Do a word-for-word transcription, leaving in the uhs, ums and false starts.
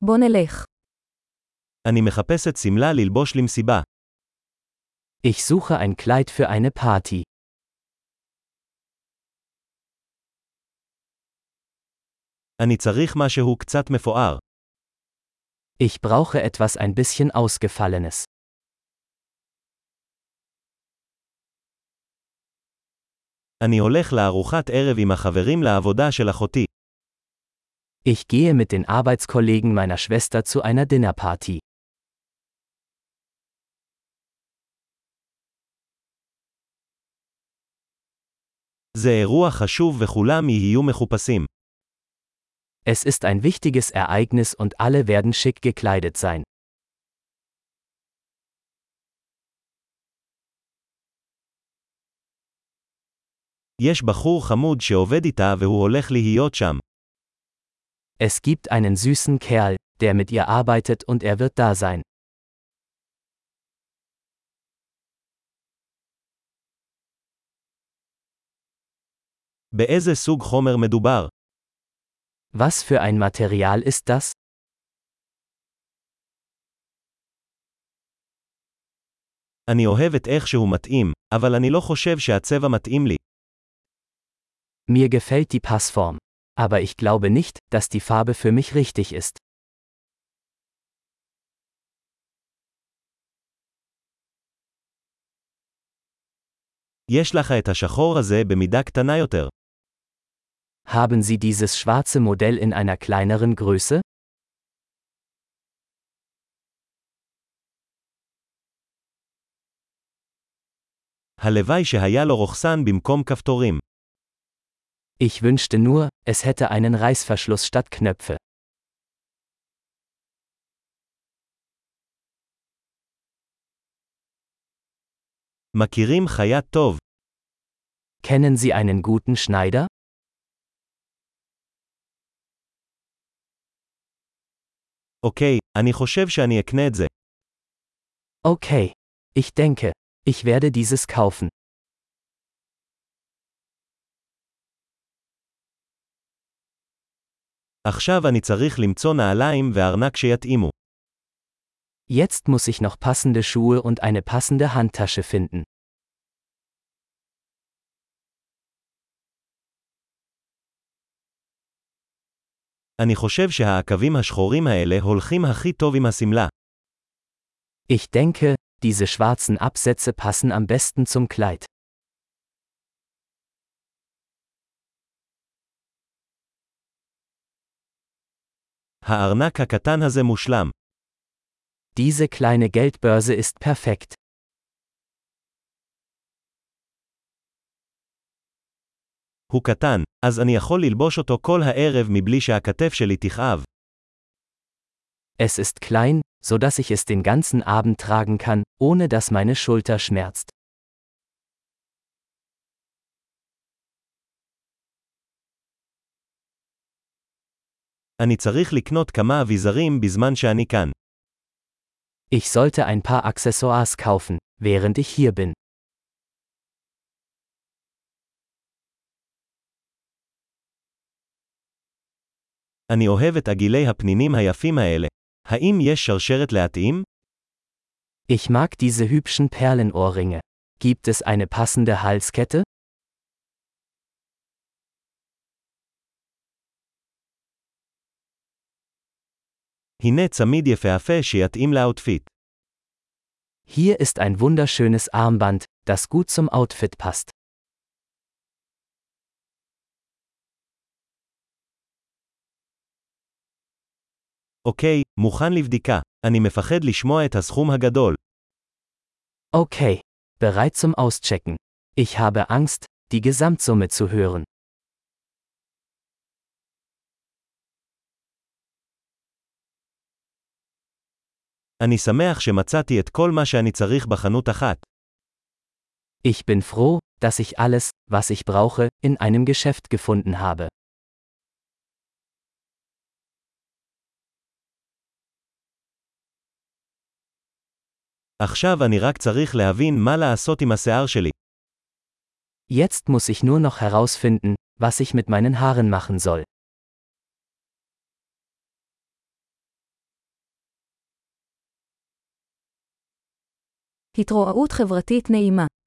בוא נלך. אני מחפשת שמלה ללבוש למסיבה. Ich suche ein Kleid für eine Party. אני צריך משהו קצת מפואר. Ich brauche etwas ein bisschen Ausgefallenes. אני הולך לארוחת ערב עם החברים לעבודה של אחותי. Ich gehe mit den Arbeitskollegen meiner Schwester zu einer Dinnerparty. זה אירוע חשוב וכולם יהיו מחופשים. Es ist ein wichtiges Ereignis und alle werden schick gekleidet sein. יש בחור חמוד שעובד איתה והוא הולך להיות שם. Es gibt einen süßen Kerl, der mit ihr arbeitet und er wird da sein. באיזה סוג חומר מדובר? Was für ein Material ist das? אני אוהב את איך שהוא מתאים, אבל אני לא חושב שהצבע מתאים לי. Mir gefällt die Passform. Aber ich glaube nicht, dass die Farbe für mich richtig ist. יש לך את השחור הזה במידה קטנה יותר. Haben Sie dieses schwarze Modell in einer kleineren Größe? הלוואי שהיה לו רוכסן במקום כפתורים. Ich wünschte nur, es hätte einen Reißverschluss statt Knöpfe. מכירים חייט טוב. Kennen Sie einen guten Schneider? אוקיי, אני חושב שאני אקנה את זה. Okay. Ich denke, ich werde dieses kaufen. עכשיו אני צריך למצוא נעליים וארנק שיתאימו. Jetzt muss ich noch passende Schuhe und eine passende Handtasche finden. אני חושב שהעקבים השחורים האלה הולכים הכי טוב עם השמלה. Ich denke, diese schwarzen Absätze passen am besten zum Kleid. הארנק הקטן הזה מושלם. Diese kleine Geldbörse ist perfekt. הוא קטן, אז אני יכול ללבוש אותו כל הערב מבלי שהכתף שלי תכאב. Es ist klein, so dass ich es den ganzen Abend tragen kann, ohne dass meine Schulter schmerzt. אני צריך לקנות כמה אביזרים בזמן שאני כאן. Ich sollte ein paar Accessoires kaufen, während ich hier bin. אני אוהב את עגילי הפנינים היפים האלה. האם יש שרשרת להתאים? Ich mag diese hübschen Perlenohrringe. Gibt es eine passende Halskette? הנה צמיד יפהפה שיתאים לאוטפיט. Hier ist ein wunderschönes Armband, das gut zum Outfit passt. אוקיי, מוכן לבדיקה. אני מפחד לשמוע את הסכום הגדול. Okay, bereit zum Auschecken. Ich habe Angst, die Gesamtsumme zu hören. אני שמח שמצאתי את כל מה שאני צריך בחנות אחת. Ich bin froh, dass ich alles, was ich brauche, in einem Geschäft gefunden habe. עכשיו אני רק צריך להבין מה לעשות עם השיער שלי. Jetzt muss ich nur noch herausfinden, was ich mit meinen Haaren machen soll. התרועעות חברתית נעימה.